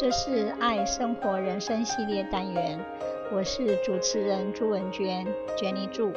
這是愛生活人生系列單元，我是主持人朱文娟 Jenny 朱。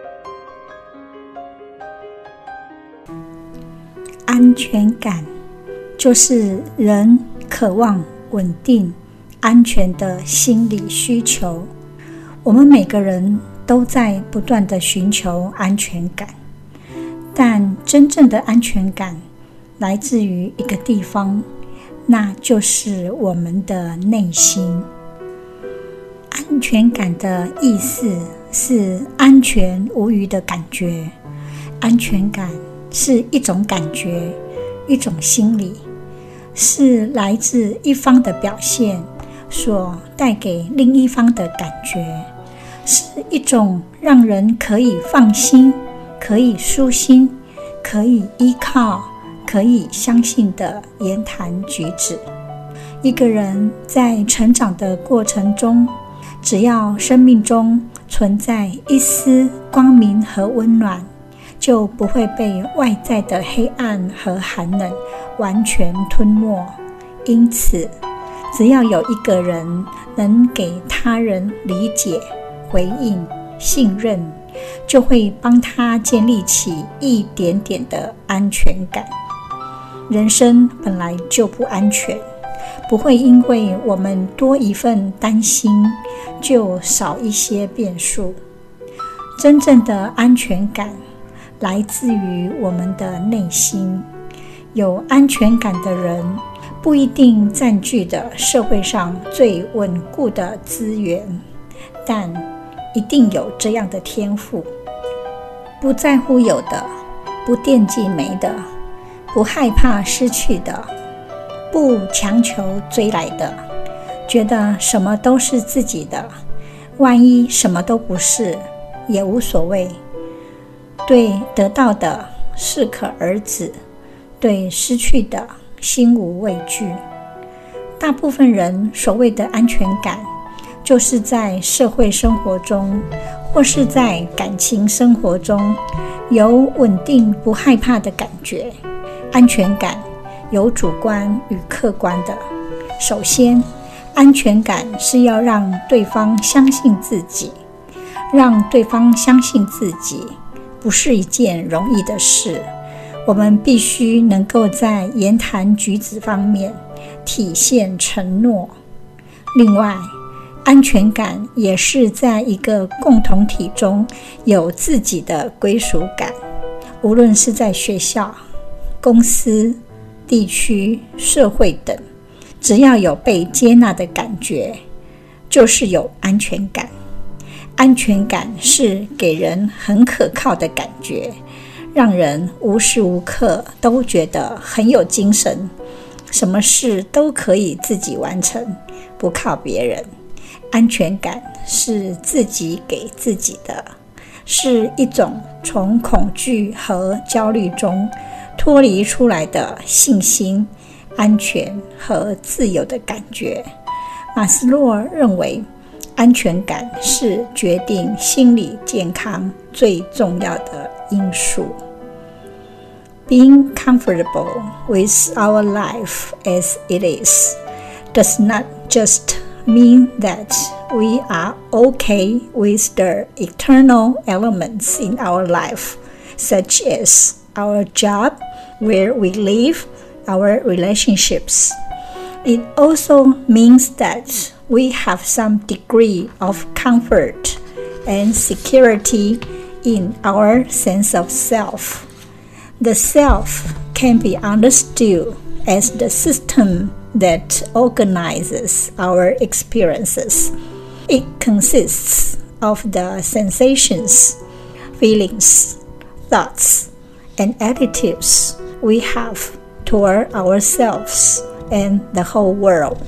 安全感就是人渴望穩定、安全的心理需求。我們每個人都在不斷地尋求安全感，但真正的安全感來自於一個地方，那就是我們的內心。安全感的意思是安全無虞的感覺，安全感是一種感覺，一種心理，是來自一方的表現所帶給另一方的感覺，是一種讓人可以放心、可以舒心、可以依靠、可以相信的言談舉止。一個人在成長的過程中，只要生命中存在一絲光明和溫暖，就不會被外在的黑暗和寒冷完全吞沒。因此，只要有一個人能給他人理解、回應、信任，就會幫他建立起一點點的安全感。人生本來就不安全，不會因為我們多一份擔心，就少一些變數。真正的安全感來自於我們的內心。有安全感的人，不一定佔據着社會上最穩固的資源，但一定有這樣的天賦：不在乎有的，不惦記沒的，不害怕失去的，不強求追來的，覺得什麼都是自己的，萬一什麼都不是也無所謂。對得到的適可而止，對失去的心無畏懼。大部分人所謂的安全感，就是在社會生活中或是在感情生活中有穩定不害怕的感覺。安全感有主觀與客觀的。首先，安全感是要讓對方相信自己。讓對方相信自己不是一件容易的事，我們必須能夠在言談舉止方面體現承諾。另外，安全感也是在一個共同體中有自己的歸屬感，無論是在學校、公司、地區、社會等，只要有被接納的感覺，就是有安全感。安全感是給人很可靠的感覺，讓人無時無刻都覺得很有精神，什麼事都可以自己完成，不靠別人。安全感是自己給自己的，是一種從恐懼和焦慮中脫離出來的信心、安全和自由的感覺。馬斯洛認為，安全感是決定心理健康最重要的因素。Being comfortable with our life as it is does not just mean that we are okay with the external elements in our life, such as our job, where we live, our relationships. It also means that we have some degree of comfort and security in our sense of self. The self can be understood as the system that organizes our experiences. It consists of the sensations, feelings, thoughts, and attitudes we have toward ourselves and the whole world.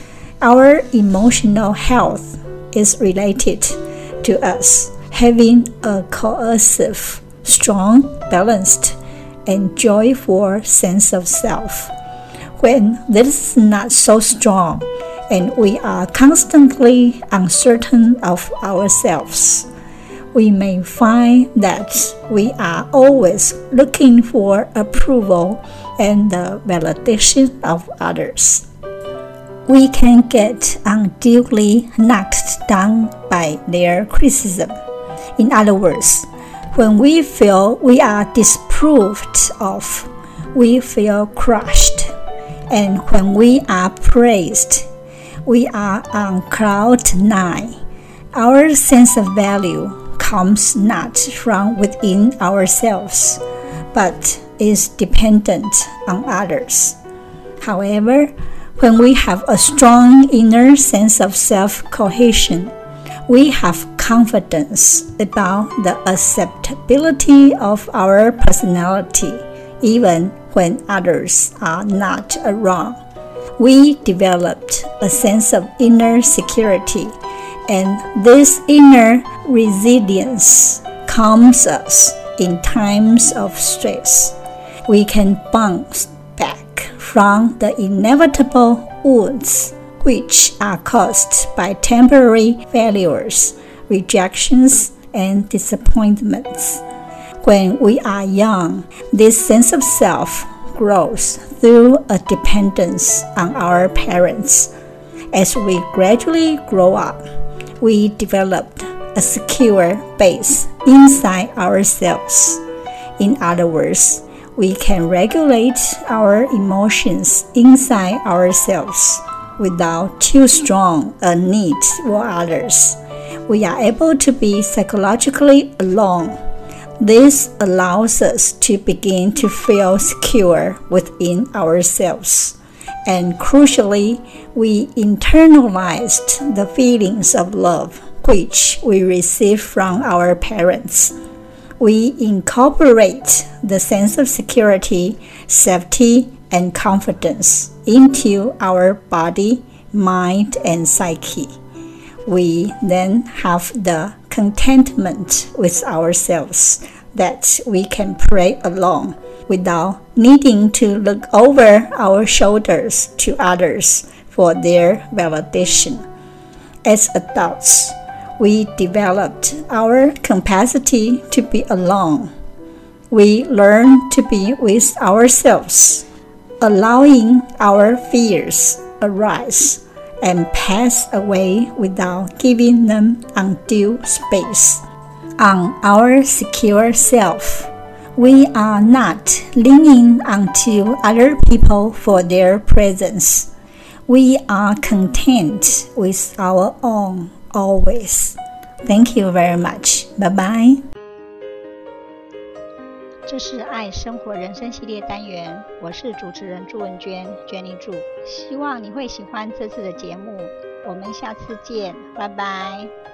Our emotional health is related to us having a cohesive, strong, balanced, and joyful sense of self. When this is not so strong, and we are constantly uncertain of ourselves, we may find that we are always looking for approval and the validation of others. we can get unduly knocked down by their criticism. In other words, when we feel we are disapproved of, we feel crushed. And when we are praised, we are on cloud nine. Our sense of value comes not from within ourselves, but is dependent on others. However, when we have a strong inner sense of self-cohesion, we have confidence about the acceptability of our personality, even when others are not around. We developed a sense of inner security, and this inner resilience calms us in times of stress. We can bounce back from the inevitable wounds which are caused by temporary failures, rejections, and disappointments. When we are young, this sense of self grows through a dependence on our parents. As we gradually grow up, we developed a secure base inside ourselves. In other words, we can regulate our emotions inside ourselves without too strong a need for others. We are able to be psychologically alone. This allows us to begin to feel secure within ourselves. And crucially, we internalized the feelings of love which we receive from our parents. We incorporate the sense of security, safety, and confidence into our body, mind, and psyche. We then have the contentment with ourselves that we can pray alone without needing to look over our shoulders to others for their validation. As adults, we developed our capacity to be alone. We learn to be with ourselves, allowing our fears arise and pass away without giving them undue space. On our secure self, we are not leaning onto other people for their presence. We are content with our own always. Thank you very much. Bye-bye. 這是愛生活人生系列單元，我是主持人朱文娟 Jenny 朱，希望你會喜歡這次的節目，我們下次見，拜拜。